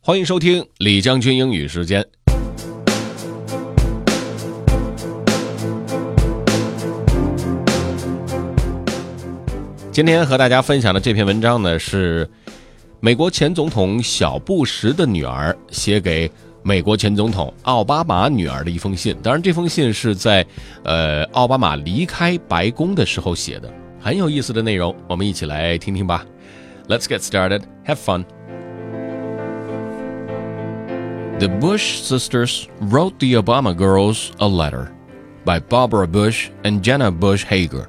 欢迎收听李将军英语时间。今天和大家分享的这篇文章呢，是美国前总统小布什的女儿写给美国前总统奥巴马女儿的一封信。当然这封信是在奥巴马离开白宫的时候写的，很有意思的内容，我们一起来听听吧。 Let's get started. Have fun. The Bush sisters wrote the Obama girls a letter by Barbara Bush and Jenna Bush Hager.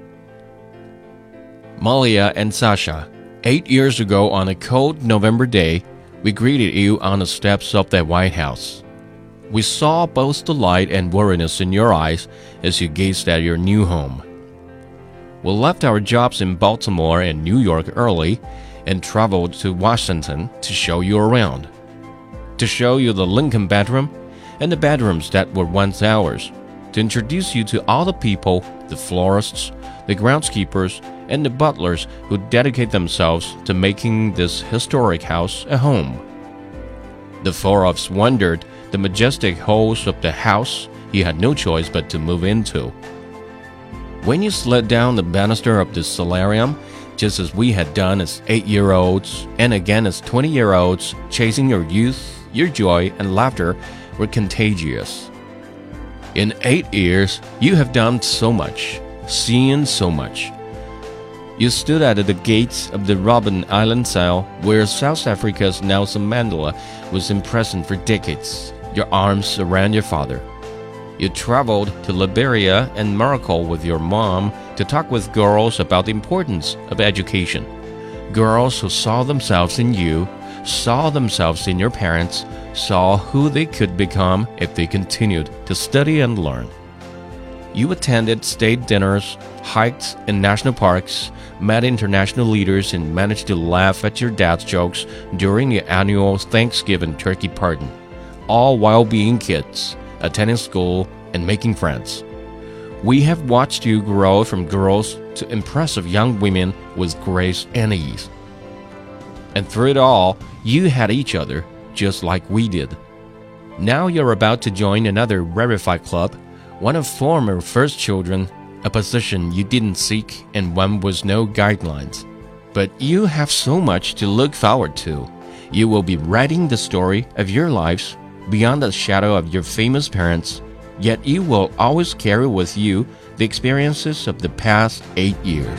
Malia and Sasha, 8 years ago on a cold November day, we greeted you on the steps of the White House. We saw both the light and weariness in your eyes as you gazed at your new home. We left our jobs in Baltimore and New York early and traveled to Washington to show you around, to show you the Lincoln bedroom and the bedrooms that were once ours, to introduce you to all the people, the florists, the groundskeepers, and the butlers who dedicate themselves to making this historic house a home. The four of us wandered the majestic halls of the house you had no choice but to move into. When you slid down the banister of the solarium, just as we had done as 8-year-olds and again as 20-year-olds, chasing your youth, your joy and laughter were contagious. In 8 years, you have done so much, seen so much. You stood at the gates of the Robben Island cell where South Africa's Nelson Mandela was imprisoned for decades, your arms around your father. You traveled to Liberia and Morocco with your mom to talk with girls about the importance of education. Girls who saw themselves in you, saw themselves in your parents, saw who they could become if they continued to study and learn. You attended state dinners, hiked in national parks, met international leaders, and managed to laugh at your dad's jokes during the annual Thanksgiving turkey party, all while being kids, attending school, and making friends. We have watched you grow from girls to impressive young women with grace and ease. And through it all, you had each other, just like we did. Now you're about to join another rarefied club, one of former first children, a position you didn't seek and one with no guidelines. But you have so much to look forward to. You will be writing the story of your lives beyond the shadow of your famous parents, yet you will always carry with you the experiences of the past 8 years.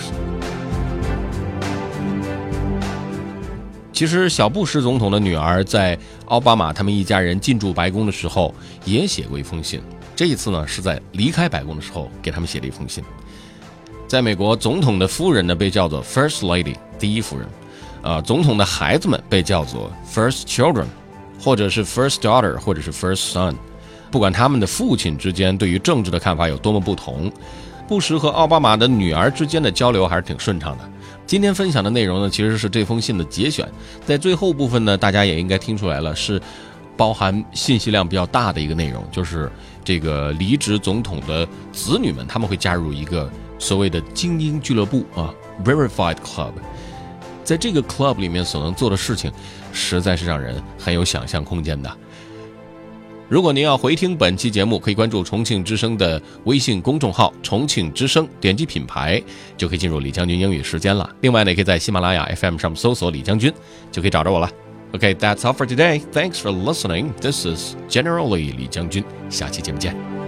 其实小布什总统的女儿在奥巴马他们一家人进驻白宫的时候也写过一封信，这一次呢是在离开白宫的时候给他们写了一封信。在美国，总统的夫人呢被叫做 First Lady 第一夫人，总统的孩子们被叫做 First Children， 或者是 First Daughter， 或者是 First Son。不管他们的父亲之间对于政治的看法有多么不同，布什和奥巴马的女儿之间的交流还是挺顺畅的。今天分享的内容呢，其实是这封信的节选，在最后部分呢，大家也应该听出来了，是包含信息量比较大的一个内容，就是这个离职总统的子女们，他们会加入一个所谓的精英俱乐部啊 ，Verified Club。在这个 club 里面所能做的事情，实在是让人很有想象空间的。如果您要回听本期节目，可以关注重庆之声的微信公众号重庆之声，点击品牌就可以进入李将军英语时间了。另外呢，也可以在喜马拉雅 FM 上搜索李将军就可以找着我了。Okay, that's all for today. Thanks for listening. This is General Li 李将军，下期节目见。